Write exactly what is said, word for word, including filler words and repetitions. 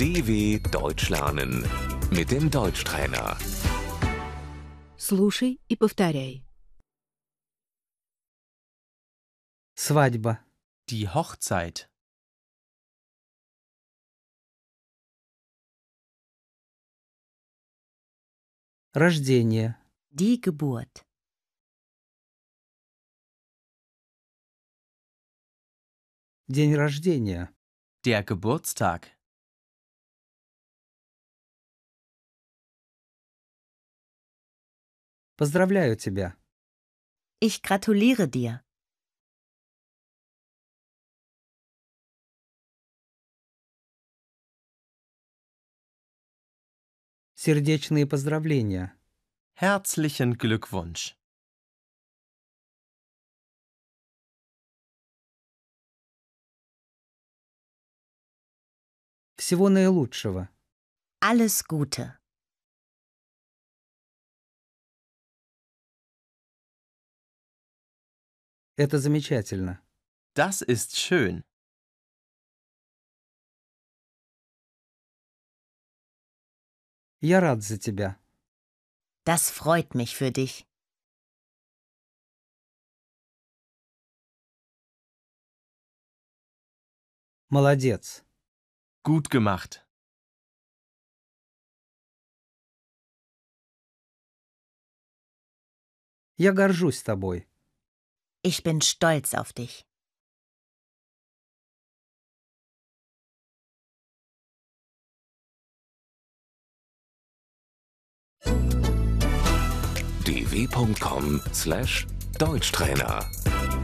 D W Deutsch lernen mit dem Deutschtrainer. Слушай и повторяй. Свадьба. Die Hochzeit. Рождение. Die Geburt. День рождения. Der Geburtstag. Поздравляю тебя. Ich gratuliere dir. Сердечные поздравления. Herzlichen Glückwunsch. Всего наилучшего. Alles Gute. Это замечательно. Das ist schön. Я рад за тебя. Das freut mich für dich. Молодец. Gut gemacht. Я горжусь тобой. Ich bin stolz auf dich. d w punkt com slash Deutschtrainer